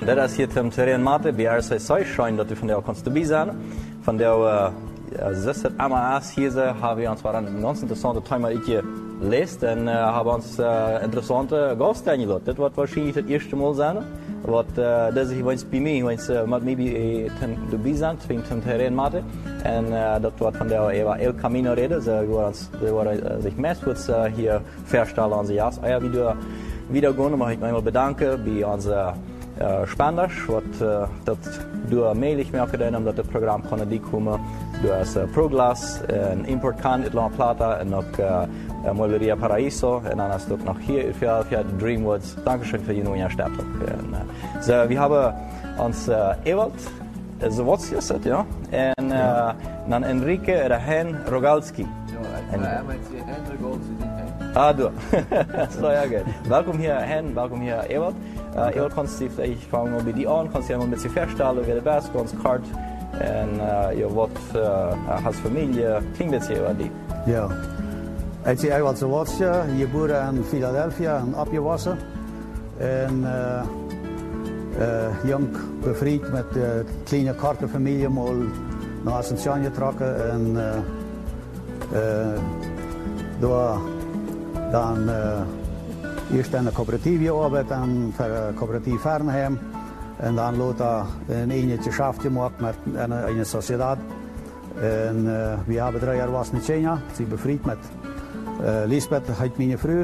Dat is hier Tim Terren Mate, BRC Seuschein, dat u van jou kannst dabei sein. Von der zesde MAS hier haben wir uns waren ein ganz interessantes Thema gelesen und haben uns interessante Gäste eingeladen. Das wird wahrscheinlich das erste Mal sein, was das ich bei mir, mit mir dabei sein, zwischen Tim Terren Mate. Und das wird von der Eva El Camino reden. Sie werden sich meistens hier verstellen an sie. Also, ja, wieder gehen, möchte ich mich einmal bedanken bei unseren Spenders, dat door mailig mee gedaan dat het programma kon die komen. Door als Proglas, een importkan uit La Plata en ook Moleria Paraíso en dan is het ook nog hier voor Dreamwoods. Dankeschön für die neue Stadt. So, wir haben uns Ewald Zawodsius, ja, en dan Enrique Hen Rogalski. Ah, du. So, ja, gut. Welkom hier, Hen, welkom hier, Ewald. Ewald, kannst du vielleicht fangen wir bei dir an, kannst du dir ein bisschen vorstellen, wer du bist, ganz kurz. Und ja, was hast Familie, klingt jetzt hier über dich? Ja, ik ben Ewald Zawodsius, geboren in Philadelphia en opgewassen. En jong bevriend met de kleine korte familie, mal naar Asunción getrokken. En door dan eerst in een coöperatief gearbeitet, dan voor een coöperatief Fernheim. En dan later een Eentjeschaft gemacht met een sociedad. En we hebben 3 jaar was in China. Ze bevriend met Lisbeth, heet mijn vrouw.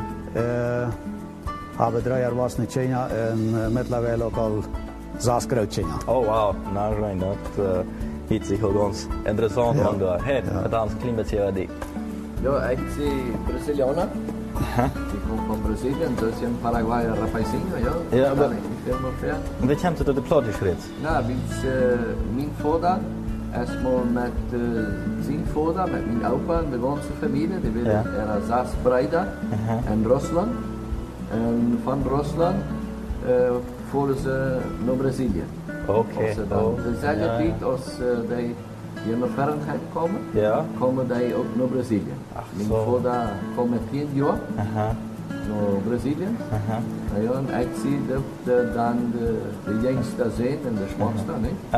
Hebben 3 jaar was in China en mittlerweile ook al 6 keer China. Oh wow, nou schijn dat hiet zich ook ganz interessant ja. Van daar. Hey, het is een klein beetje wat die. Ja, ik ben Brazilianer. Ik kom van Brazilië, dus in Paraguay rapaisinho, ja. Ja, maar wie wie komt het de plot geschreven? Nou, mijn vader, erstmal met zijn vader, met mijn opa en de ganze familie. Die willen er 6 Brüder in Rusland. En van Rusland voeren ze naar Brazilië. Oké. Dezelfde tijd als die hier naar Fahrenheit komen, komen die ook naar Brazilië. Mijn vader komt met 10 jaar naar Brazilië. Ja, en ik zie dan de jongste zijn en de schwangste,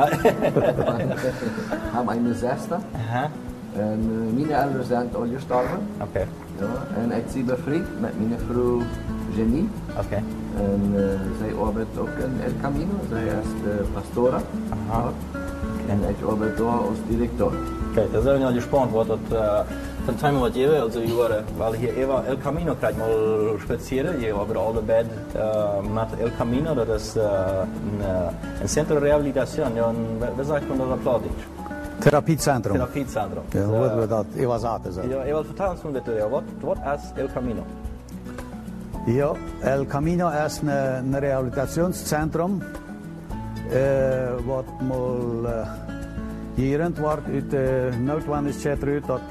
hebben een 6e. En mijn ouders zijn al gestorven. Okay. Ja, en ik zie bevriend met mijn vrouw Jenny. Okay. En zij arbeidt ook in El Camino, zij is de pastora. En ik arbeid daar als directeur. Kijk, dat zijn we al gespannt, wat dat van time wat je also je weil hier Eva El Camino krijgt mal spazieren, je hebben alle bed met El Camino, dat is een centro de rehabilitación, ja, wat zegt man dat op Platisch? Therapiecentrum. Therapiecentrum. Ja, hoe we dat Eva zaten zijn. Ja, Eva, vertel ons bitte, wat is El Camino? Ja, El Camino is een rehabilitationscentrum wat mal gerend wordt uit de noodwendigheid uit dat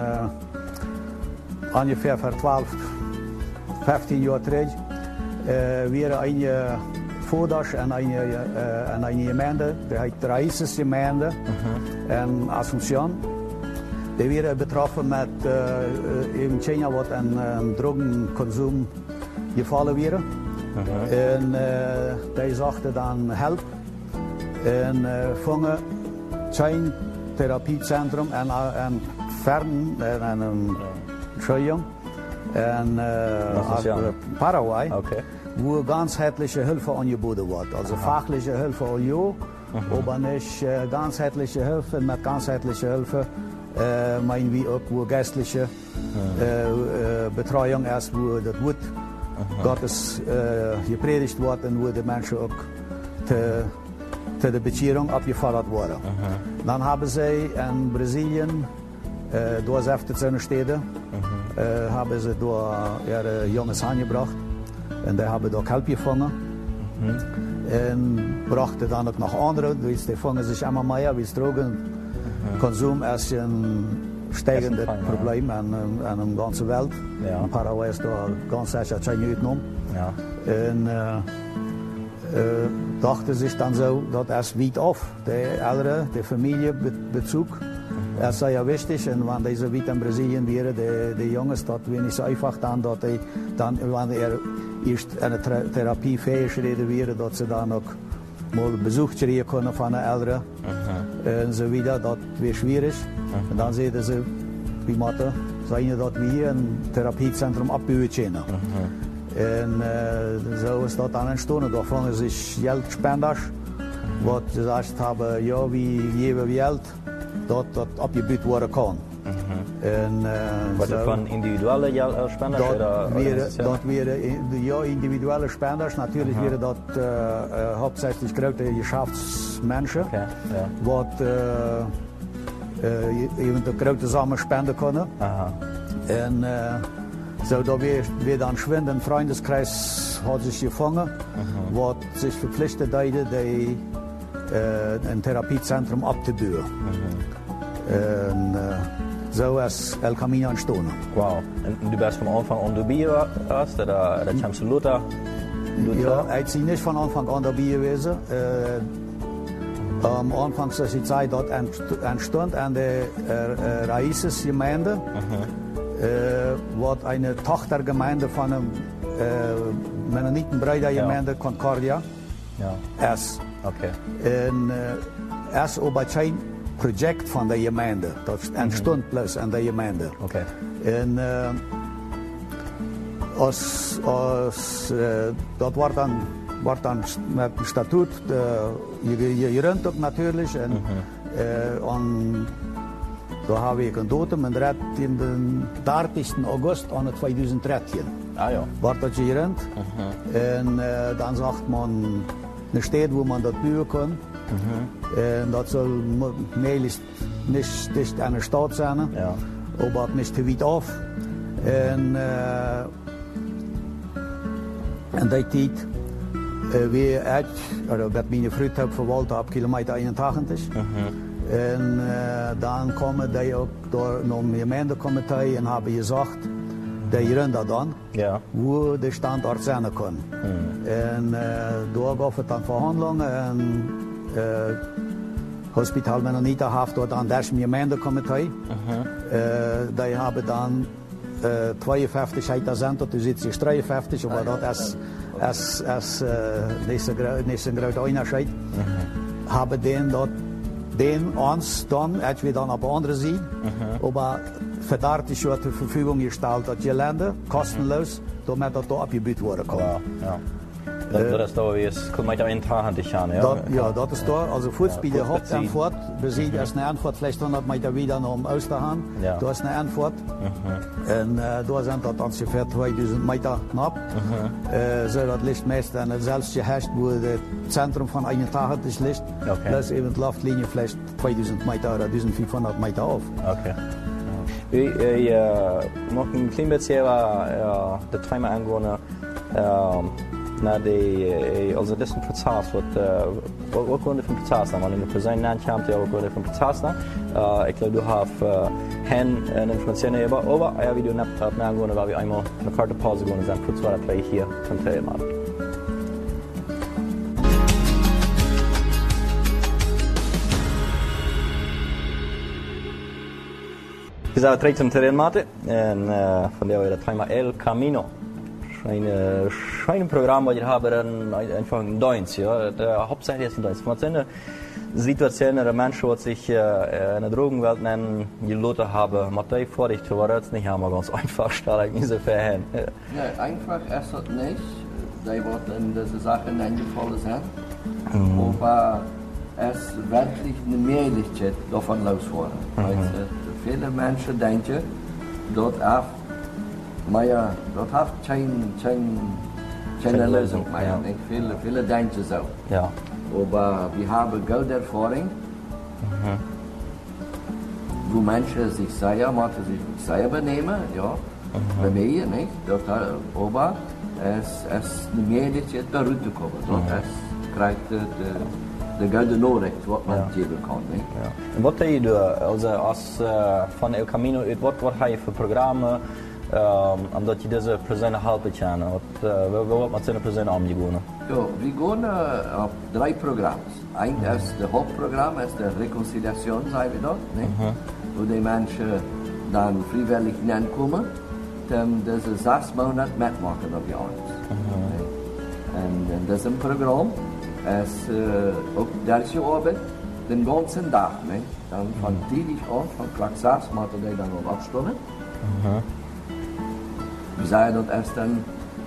ongeveer voor 12, 15 jaar terug weer een voorders en een gemeente, die heet Raíces gemeente in Asunción. Die werden betroffen met in China wat een drogenconsum gevallen werden. En die zochten dan help en vangen zijn therapiecentrum en Fern en Entschuldigung en Paraguay, wo ganzheitliche Hilfe angeboten wordt. Also fachliche Hilfe al ja, aber nicht ganzheitliche Hilfe. Mit ganzheitlicher Hilfe meinen wir auch, wo geistliche Betreuung ist, wo das Wort Gottes gepredigt wordt en wo die Menschen auch te de Bekehrung abgefordert worden. Dan hebben zij in Brazilië, door 17 steden, hebben ze door ihre jongens aangebracht. En die hebben ook hulp gevangen. En brachten dan ook nog andere, dus die vangen zich immer meer, wie drogenkonsum is een stijgend probleem in de ganze wereld. In Paraguay is daar ganz sicher geen uitgenomen. En dachten zich dan zo dat es weit af, de ouderen, de familiebezug, Das ist sehr wichtig, und wenn diese wieder in Brasilien wäre, die Jungs, das wäre nicht so einfach dann, dass dann, wenn erst eine Therapie fähig wäre, dass sie dann auch mal Besuch kriegen können von den Eltern und so wieder, das wäre schwierig. Und dann sehen sie, wie Mathe, sagen, dass wir hier ein Therapiezentrum abbauen können. Und so ist das dann entstanden. Da fangen sich Geldspender, was gesagt haben, ja, wie geben wir Geld, dass das abgebaut werden kann. Was so, von individuellen Spenders? Dat wären ja, individuelle Spenders. Natürlich wären das hauptsächlich große Geschäftsmenschen, die eben große Summen spenden können. Und so, da wir dann schwind ein Freundeskreis hat sich gefangen, was sich verpflichtet hat, ein Therapiezentrum abzubauen. So ist El Camino entstanden. Wow. Und du bist von Anfang an dabei erst, oder kommst du Luther? Ja, ich bin nicht von Anfang an dabei gewesen. Am Anfang ist die Zeit dort entstand an der Raíces-Gemeinde, was eine Tochtergemeinde von der Mennonitenbrüdergemeinde Concordia ist. Okay. Und erst aber kein Projekt von der Gemeinde. Das entstand bloß an der Gemeinde. Okay. Und das war dann mit dem Statut gerönt natürlich. Und da habe ich ein Datum in den 30. August 2013. War das gerönt. Und dann sagt man eine Stadt, wo man das bauen kann. Das soll möglichst nicht dicht an der Stadt sein, aber nicht zu weit auf. Und die Zeit, wie meine Frau verwaltet ab Kilometer 81. Und dann kommen die auch noch im Gemeindekomitee und haben gesagt, die Rinder dann, wo der Standort sein kann. Und da gab es dann Verhandlungen und Hospital Mennonita hat dort an das Gemeindekomitee. Die haben dann 52 Hektar sind, du sitzt 53, aber das ist nicht ein großer Unterschied. Haben uns dann, als wir dann auf der anderen Seite, aber für 30 Jahre zur Verfügung gestellt, das Gelände, kostenlos, damit das da abgebaut werden kann. Dat is toch weer Kilometer 81 aan, ja? Ja, dat is toch. Also Fuß bei der Hauptantwort, besiegt erst eine Antwort, vielleicht 100 Meter wieder noch Osterhahn. Da ist eine Antwort. Und da sind das ungefähr 2000 Meter knapp. So, das liegt meist selbst geherrscht, wo das Zentrum von 81 liegt. Plus eben die Luftlinie vielleicht 2000 Meter oder 1500 Meter auf. Okay. Je mag een klein beetje de Träume aangewonnen. Also das ist ein Prozess, was Gründe für den Prozess haben. Wenn du für seinen Namen kommst, ja auch Gründe für den Prozess haben. Ich glaube, du hast eine Information über, aber ja, wie du nicht angehört, weil wir einmal eine Karte Pause gehen und dann kurz weiter gleich hier zum Teil machen. Wir sind direkt zum Terrain Mate und von der wir das Thema El Camino. Ein Programm, das wir haben, einfach in Deutsch, ja. Hauptsächlich ist in Deutsch. Man sieht Situationen, der Menschen, die sich in der Drogenwelt gelassen haben, mit denen vorsichtig zu werden, ist nicht immer ganz einfach, stelle ich mir so verhängen. Ja, einfach ist es nicht. Die werden diese Sachen eingefallen sein. Aber es wirklich eine Möglichkeit davon loszuwerden. Also, viele Menschen denken, dort auch, maar ja, dat heeft geen Lösung. Maar ik viele denken so. Ja. Aber wir haben gute Erfahrung, wo Menschen sich sehr benehmen, ja, bei mir nicht. Aber es ist eine Möglichkeit, da rauszukommen. Es kriegt de gute Nachricht, was man geben kann. Nicht? Ja. Und was deed je als van El Camino, wat heb je voor programma? Omdat je deze personen helpen kan. Wat met zijn personen omgegaan? Ja, we gaan op 3 programma's. Eén is het hoofdprogramma, is de reconciliatie, zeggen we dat. wo die Menschen dann freiwillig hinkommen, dann diese 6 Monate mitmachen auf die Arzt. Und in diesem Programm ist auch diese Arbeit den ganzen Tag. Ne? Dann von täglich an, von Tag 6 machen die dann noch 8 Stunden. Wir sagen, das ist dann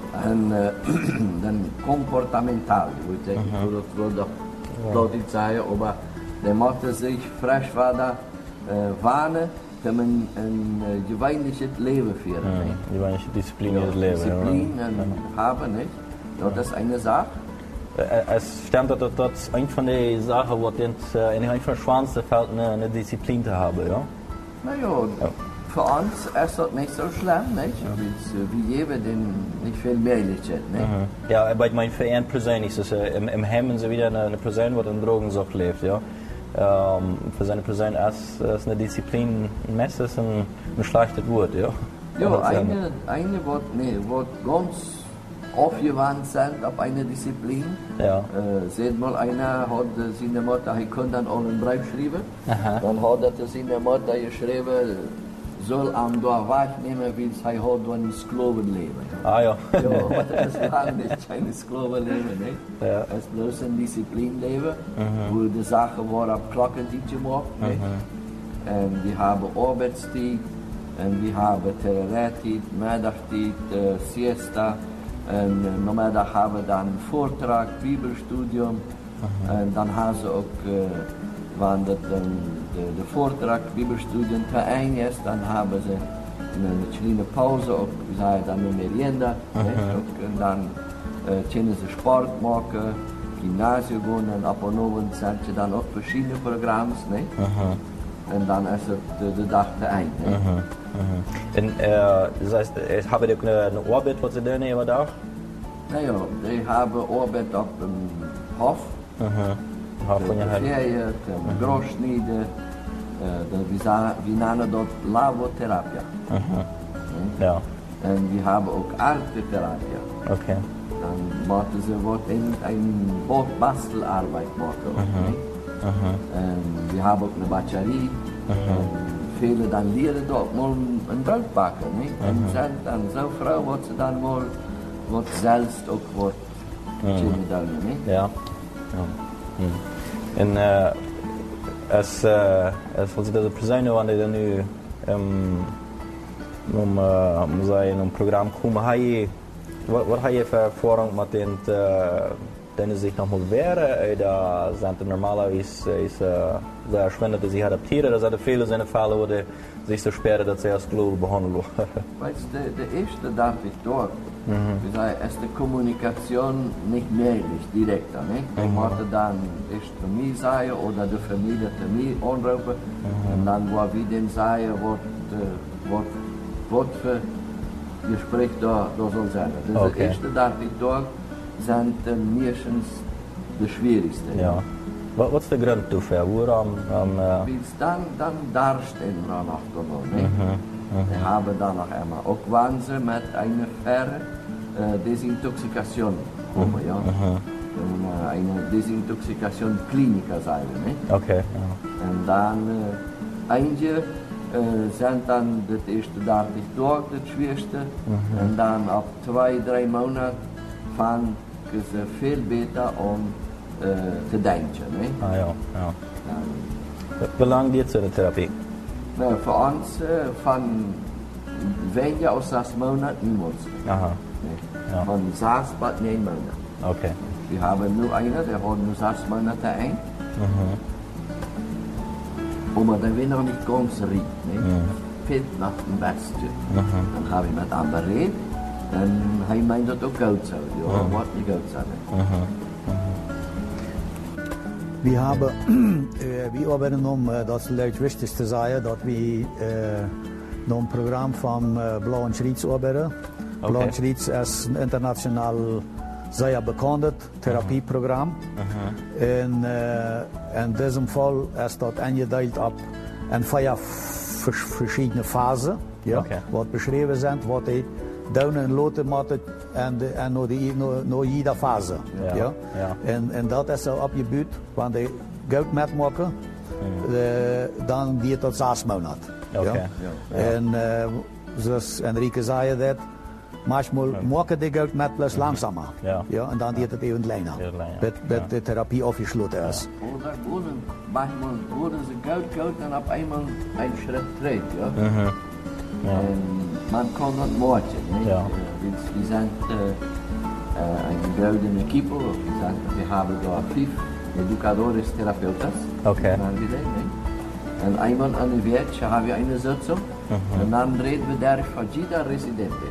ein komportamental, wo ich denke, das würde doch nicht sagen, aber der macht sich frisch weiter warnen, dass man ein gewöhnliches Leben führen. Gewöhnliche Disziplin in das Leben. Disziplin haben, nicht? Das ist eine Sache. Es stimmt, dass das eine von den Sachen, wo in den schwanste fällt, eine Disziplin zu haben, ja? Naja, für uns ist das nicht so schlimm, nicht? Wie jeder, den nicht viel mehr liegt, nicht? Ja, bei meinem Verein persönlich ist es im Hemmen so wieder eine Person, die in Drogensucht lebt, ja? Für seine Person ist eine Disziplin meistens ein schlechtes Wort, ja? Ja, eine wird ganz aufgewandt sind auf eine Disziplin. Ja. Seht mal, einer hat seine Mutter, er kann dann auch einen Brief schreiben. Dann hat er seine Mutter geschrieben, soll am da wahrnehmen, wie es er hat ein Sklavenleben. Ah ja. Ja, aber das ist lang nicht kein Sklavenleben, nicht? Ja. Es ist bloß ein Disziplinleben, wo die Sachen worden ab Klockenzeit gemacht, nicht? Und wir haben Arbeitszeit, und wir haben Terrarzeit, Mittagszeit, Siesta. Und normaal haben wir dann Vortrag, Bibelstudium. Und dann haben sie auch, wenn der Vortrag, Bibelstudium zu Ende ist, dann haben sie eine kleine Pause, auch dann eine Merienda. Und dann können sie Sport machen, Gymnasium gehen, und ab und an sind sie dann auch verschiedene Programme. Und dann ist der Tag zu Ende. Und das heißt, haben die eine Arbeit, was sie dann immer da? Naja, die haben Arbeit auf dem Hof. Hof von Ferien, Großschniede, wir nennen das Lavotherapie. Ja. Und wir haben auch Artetherapie. Okay. Dann machen sie eine Bastelarbeit machen. Und wir haben auch eine Batterie. Viele dann leren dort mal ein Brot backen. Und sind dann so froh, was sie dann mal selbst auch tun. Ja. Und als ze deze personen wanneer je nu om een programma komen, wat heb je voor ervaring met den sich noch mal wehren, da sind normalerweise sehr schwindend, dass sie adaptieren, dass viele seine Fälle, wo die sich so sperren, dass sie als Global behandeln. Weißt du, der erste darf ich dort. Wir sagen, ist die Kommunikation nicht möglich, direkt. Ich musste dann erst für mich sagen oder die Familie für mich anrufen. Und dann, wo wir den sagen, was für Gespräch da soll sein. Das erste darf ich dort. Zijn meestens de schwierigste. Ja. Wat is de grond dafür? Waarom? Dan daar stehen wir noch gewonnen. Wir haben dann noch einmal auch Wahnsinn mit einer Desintoxikation kommen, ja. Eine Desintoxikation Kliniker sein, ne? Okay. Ja. Und dann einige sind dann das erste Tag nicht durch, das schwierigste. Und dann ab 2-3 Monaten fangen sie viel besser an zu denken. Ne? Ah ja. Wie lange geht so eine Therapie? Na, für uns von weniger als 6 Monaten niemals. Aha. Ne? Ja. Von 6 bis 9 Monaten. Okay. Wir haben nur einen, der hat nur 6 Monate ein. Aber der will noch nicht ganz riecht. Ne? Fehlt nach dem Besten. Dann habe ich mit anderen geredet. En hij meint dat ook goed zo. Ja, wat niet goed zo. Wir arbeiten das ist vielleicht wichtig zu sagen, dass wir noch ein Programm vom Blauen Schritt arbeiten. Okay. Blauen Schritt ist ein international sehr bekanntes Therapieprogramm. In diesem Fall ist das eingeteilt ab in 4 verschiedene Phasen, ja, okay. Was beschrieben sind, was die down en loten moeten en naar jeder Fase. Ja. En dat is zo opgebuurd, want die goud metmaken dan die tot 6 maanden. Okay. Ja? En zoals Enrique zei dat, manchmal maken die Geld met plus langzamer. Ja. Ja? En dan die het even kleiner. Bis die Therapie aufgeschlossen ist. Oder manchmal wurden sie Geld und auf einmal ein Schritt dreht. Ja? Ja. Man kann das morgen. Ja. Wir sind eine goldene Equipe. Wir haben da 5 Educadores Therapeutas. Okay. Und einmal an der Woche haben wir eine Sitzung. Und dann reden wir der von jeder Residente.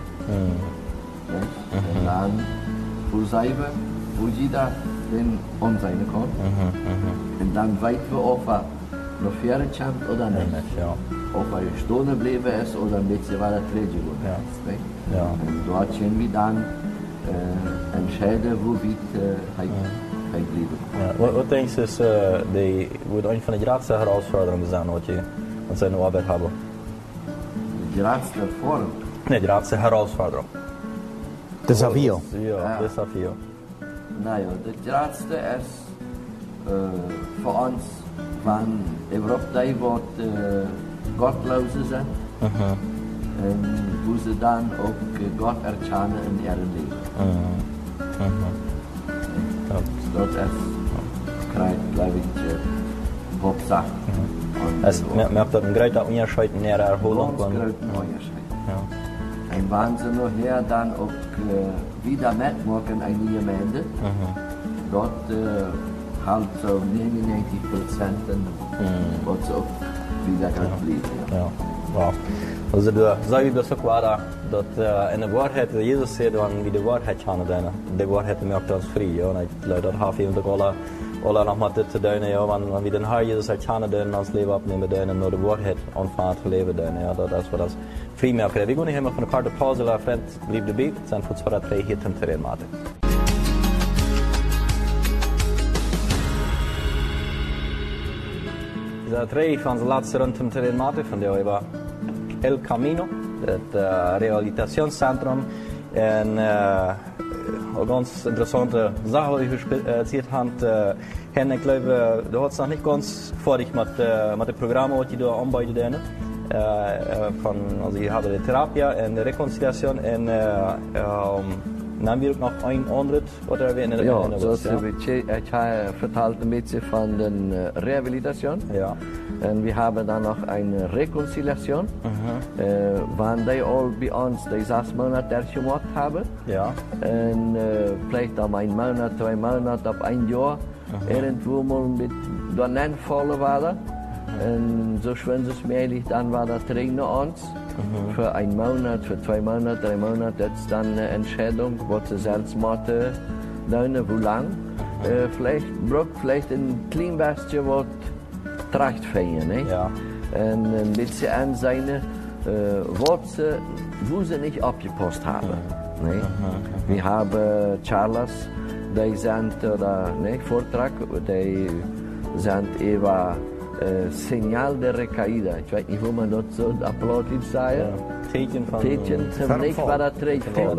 Und dann versuchen wo jeder den sein kann. Und dann weiten wir, ob noch Pferde kommt oder nicht. Ja. Ob Stunde bleiben ist oder ein bisschen weiter treten geworden ist. Ja. Und dort können wir dann entscheiden, wo wir bleiben. Ja. Wat denk je is een van de grootste herausforderungen zijn wat je aan zijn arbeid hebt? De grootste vorm? Nee, de grootste herausforderung. Desafio. Ja, desafio. Nou ja, de grootste is voor ons van Europa wat Gottlosen zijn. En hoe ze dan ook God erkennen in hun leven. Dat is, glaube ich, Hauptsache. Es merkt dat een grote onderscheid in der Erholung. Ganz großen Unterschied. Und wenn sie nachher dann auch wieder mitmachen, eine Gemeinde, dort halt so 99% wird sie auch wieder bleiben. Ja. Wow. Also du sagst das auch weiter, dass in der Wahrheit, Jesus sagt, wenn wir die Wahrheit kennen, die Wahrheit macht uns frei. Ja? Und ich glaube, das hat eben alle noch mal das zu tun, ja? Wenn wir den Herrn Jesus erkennen, uns Leben abnehmen, nur die Wahrheit anfangen zu leben, ja? Das ist das frei macht. Wir gehen hier mal von der Karte Pause, la Freund, bleib dabei, dann für 2 oder 3 hier zum Terrain machen. De 3 van de laatste rondom terrein maken van de over El Camino, het rehabilitationscentrum. En een ganz interessante Sache, die wir erzählt haben. Ich glaube, du hast noch nicht ganz fertig mit dem Programm, was die da anbieten. Also ich habe die Therapie und die Rekonziliation und dann wird noch ein anderes oder wie in der Ja, zoals ich vertelt ein bisschen von der Rehabilitation. Ja. Und wir haben dann noch eine Rekonziliation, wann die all bei uns die 6 Monate gemacht haben. Ja. Und vielleicht dann 1 Monat, 2 Monate, ab 1 Jahr, irgendwo mal mit Donen voll waren. Und so schön es möglich, dann war das Trainer uns. Für 1 Monat, für 2 Monate, 3 Monate, das ist dann eine Entscheidung, was sie selbst machen, wo lang. Vielleicht braucht vielleicht ein klein bisschen was Tracht feiern, ne? Ja. Und ein bisschen an seine Worte, wo sie nicht abgepasst haben. Ne? Wir haben Charles, die sind, oder ne, Vortrag, die sind über Signal der Recaída. Ich weiß nicht, wo man das so applaudit sagt. Ja. Tätchen zum Nick war das Trägvoll.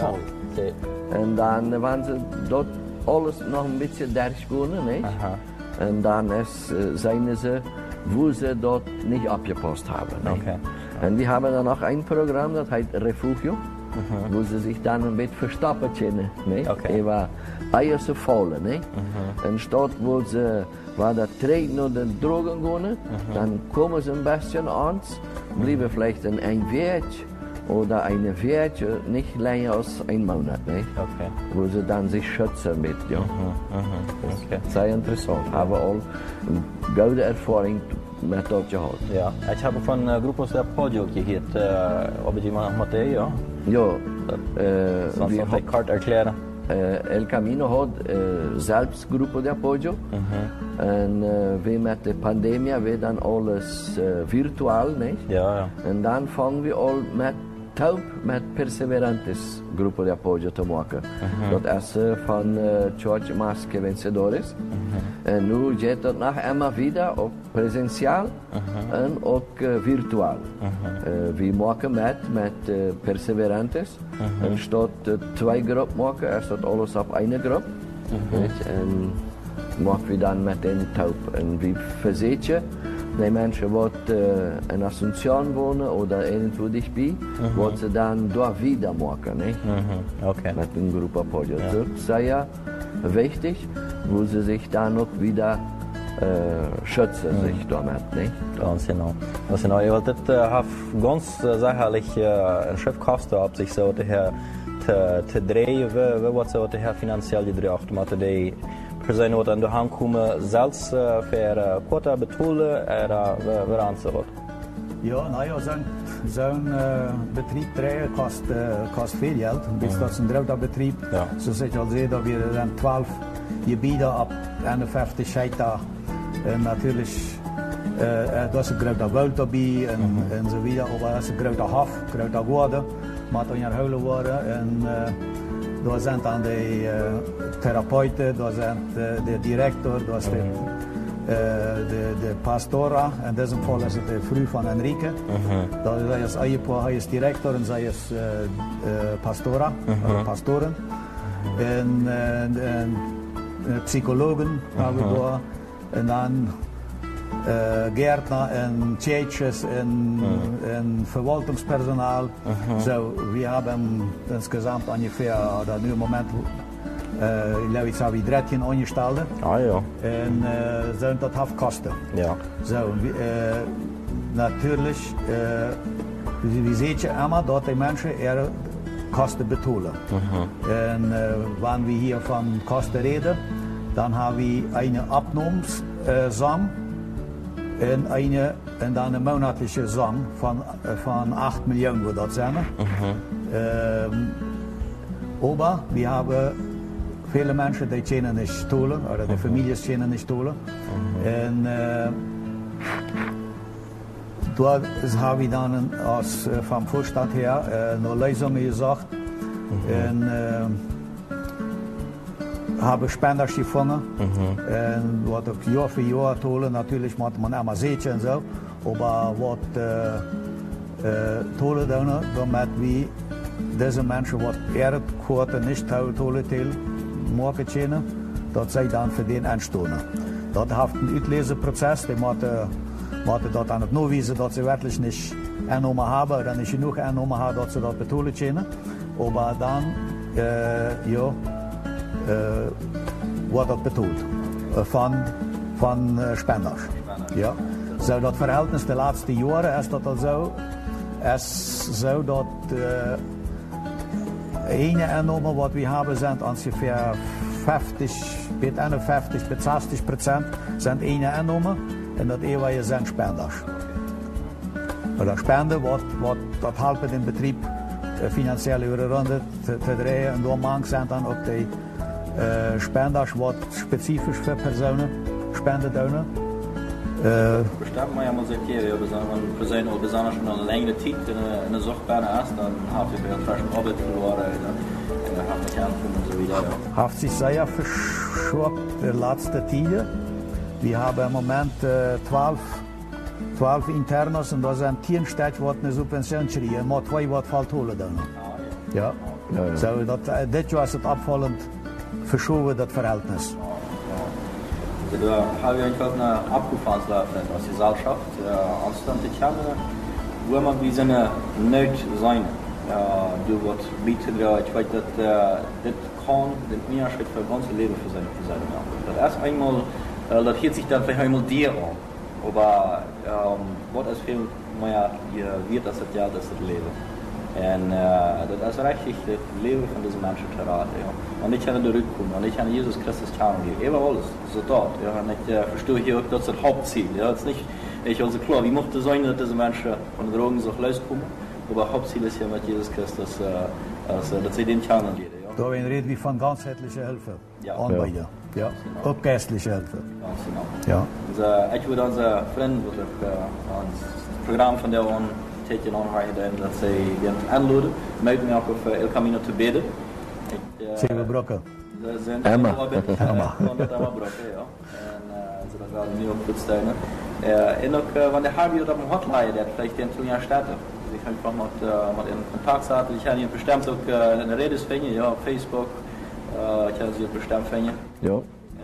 Ja. Und dann waren sie dort alles noch ein bisschen durchgegangen, nicht? Und dann seien sie, wo sie dort nicht abgepasst haben. Okay. Und wir haben dann noch ein Programm, das heißt Refugio, wo sie sich dann ein bisschen verstoppen können. Okay. Über Eier zu fallen. Und statt wo sie war der Treten oder Drogen gehen, dann kommen sie ein bisschen an, bleiben vielleicht ein Weg oder eine Weg, nicht länger als 1 Monat, nicht? Okay. Wo sie dann sich schützen mit. Ja. Okay. Sehr interessant, aber auch eine gute Erfahrung mit dort gehabt. Ja, ich habe von Grupos de Apoyo gehört, ob ich mal mit dir, ja? Ja. Sonst noch die Karte erklären. El Camino hat selbst Grupo de Apoyo. Und wie mit der Pandemie wird dann alles virtual, nicht? Ja. Und dann fangen wir all mit Perseverantes Grupo de Apoyo zu machen. Das ist von George Masque Vencedores. Und nun geht das nachher immer wieder auf präsential und auch virtual. Wir machen mit Perseverantes. Und statt 2 Gruppen machen, ist das alles auf eine Gruppe. maken we dan met een taub. En wie verzeet je? Die mensen die in Asunción wonen oder irgendwo dichtbij, wat ze dan daar wieder maken. Okay. Met een groep apoyo. Dat is sehr wichtig, wo sie sich dann auch wieder schützen sich damit. Nicht? Ganz genau. Ganz genau. Ja, das hat ganz sicherlich ein Schiff kostet, ob sich so der te drehen, wie wat so der finanziell gedreht, mit der Person, die an der Hand kommen, selbst für Quota betonen, wer anzuhört. Ja, naja, zo'n Betrieb drehen kost veel geld. Bis dat is een groter Betrieb. Ja. Zo zit je al zeer dat we dan 12 gebieden op 51 Hektar. En natuurlijk, dat is een groter woud erbij en zo weer. Maar dat is een groter hof, groter woorden. Maar dan je huilen worden. En daar zijn dan de therapeuten, daar zijn de director, daar is de pastora. En in diesem Fall is het de vrouw van Enrique. Zij is ehepaar, hij is director en zij is pastora, pastoren. En psychologen hebben we daar. En dan Gärtner en Tjeetjes en Verwaltungspersonal. So, wir haben insgesamt ungefähr, oder nu im Moment, ich glaube, jetzt habe ich 13 Angestellte. Ah ja. En dat heeft kosten. Ja. So, natürlich, wie seht ihr immer, dort die Menschen ihre Kosten betonen. En wenn wir hier von Kosten reden, dann haben wir eine Abnahmsam en dan een monatliche Sum van 8 Millionen, wo dat zijn. Aber wir haben viele Menschen, die können nicht stohlen, oder die Familien können nicht stohlen. En da haben wir dann vom Vorstand her noch Lösungen gesagt. En hebben spenders gevangen. En wat ook jaar voor jaar tolen, natuurlijk moet man immer zeetje en zo. Maar wat tolen doen, damit we deze mensen wat eerder korten niet tolen maken kunnen, dat zij dan voor den aanstonen. Dat heeft een uitlezenproces, die moeten dat aan het nawijzen dat ze werkelijk niet aannemen hebben, dan is genoeg aannemen hebben dat ze dat betonen kunnen. Maar dan, ja, wordt dat betoeld van spenders. Ja. Zo dat verhältnis de laatste jaren is dat al zo dat ene aanname wat we hebben zijn ongeveer 51 bis 60% zijn ene aanname en dat eeuwige zijn spenders. Oder spenden wat dat helpt den Betrieb finanziell über de Runde te drehen en door zijn dan ook de spenders wat specifisch voor personen spenden doen. Bestimmt man ja mal seit hier, wenn Personen oder besonders schon eine längere Zeit in der Suchtbahn ist, dann hat sie vielleicht schon Arbeit verloren, dann hat man kämpfen und so wieder. Hat sich sehr verschoben die letzten Tage. Wir haben im Moment 12 Internos und da sind 10 Städte, die eine Subvention kriegen, maar 2 wat valt holen dan. Ja. So, dit jaar is het opvallend verschoben, dat verhältnis. Also da habe ich einfach eine Abgefahrensläufe aus der Gesellschaft, anstand die Kerne, wo man wie seine Not sein, du wird bieten, ich weiß, dass das kann den Unterschied für das ganze Leben für sein machen. Das erst einmal, das hört sich dann vielleicht einmal dir an, aber was ist viel mehr wird das ja das Leben. En dat is richtig het leven van deze mensen te raden. Ja. En ik kan terugkomen, en ik kan Jezus Christus kennenlernen. Even alles, zo dat. Ja. En ik verstehe hier ook dat het Hauptziel. Ja. Het is niet, ich also klar, wie mochte sein, dass diese Menschen von den Drogen so rauskommen. Aber Hauptziel ist ja mit Jesus Christus, dass sie den kennenlernen. Ja. Da reden wir von ganzheitlicher Hilfe. Ja. Anbieten. Ja. Genau. Auch geistliche Hilfe. Ganz genau. Ja. Also, ich würde unsere Freunde, das Programm von der an tegen aanhouden dat zij gaan aanloden. Met mij ook op El Camino te bidden. Zeven brokken. Emma. Emma brokken, ja. En zodat we nu ook goed steunen. En ook wanneer hebben we op een hotline, dat vielleicht in 2 jaar starten. Dus ik ga einfach met in contact zetten. Ik ga hier bestimmt ook in de redes vinden, ja, op Facebook. Ik ga ze bestimmt vinden. Ja.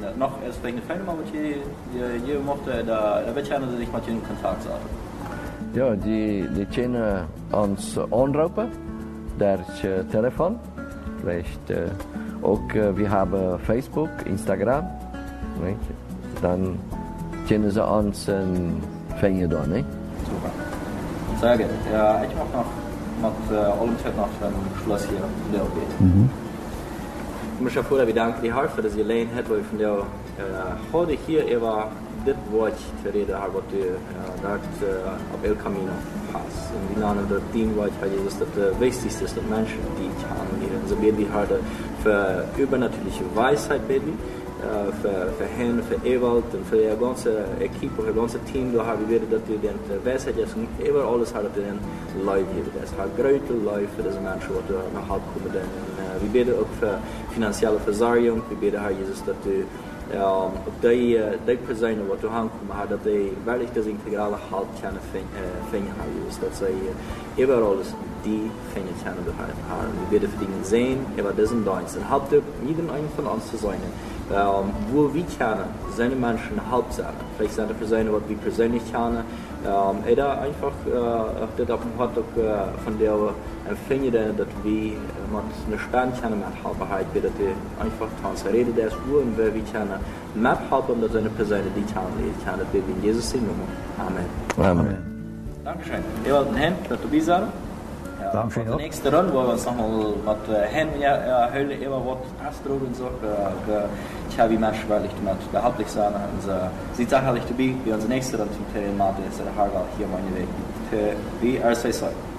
nog eens wegen de fijne, maar wat je mocht, daar weet je dat ik met je in contact zat. Ja, die kunnen ons aanroepen, daar is je telefoon. Vielleicht ook, we hebben Facebook, Instagram. Weet je. Dan kunnen ze ons vinden dan. Super. Sehr gut. Ja, ich mag noch mit allem Zeit noch ein Schluss hier deel geht. Ich muss ja vorher bedanken die Hilfe, dass ihr allein habt, weil von der heute hier über das Wort zu reden habe, was du dort auf El Camino hast. Und wir nennen das Team, was Jesus das Wichtigste ist, dass Menschen, die ich habe, so beten wir heute für übernatürliche Weisheit beten. Für hen, für Ewald und für die ganze Equipe, für das ganze Team, da haben wir dass die den Weisheit jetzt über alles hat den Leute hier. Das hat große Leute für diese Menschen, die nach Hause kommen. Wir beten auch für finanzielle Versorgung. Wir beten, Herr Jesus, dass du die Personen, die du ankommen, dass die wirklich das integrale Halt finden, Herr Jesus, dass sie überall die finden können, Herr. Wir beten für die Sehen, über diesen Dienst. Und habt ihr jeden einen von uns zu sein. Wo wir kennen, seine Menschen halb sein. Vielleicht sind es für was wir persönlich kennen. Oder einfach, das hat auch von der empfinden, dass wir mit einer Spende kennen, mit Halberheit, dass wir einfach transferieren, das und wer wir kennen, mit Halber, dass eine Person, die kennen, dass wir in Jesus sind. Amen. Amen. Dankeschön. Wir wollten hin, dass du bist. Dankeschön. De nächste Runde, wo wir uns nochmal mit hin hören, immer was ausdrücken und so, ich habe die Menschen wirklich damit behauptlich sein. Sie sicherlich dabei, wie unsere nächste Runde zum Thema, ist der Hargal hier meine Weg. Wie RSA.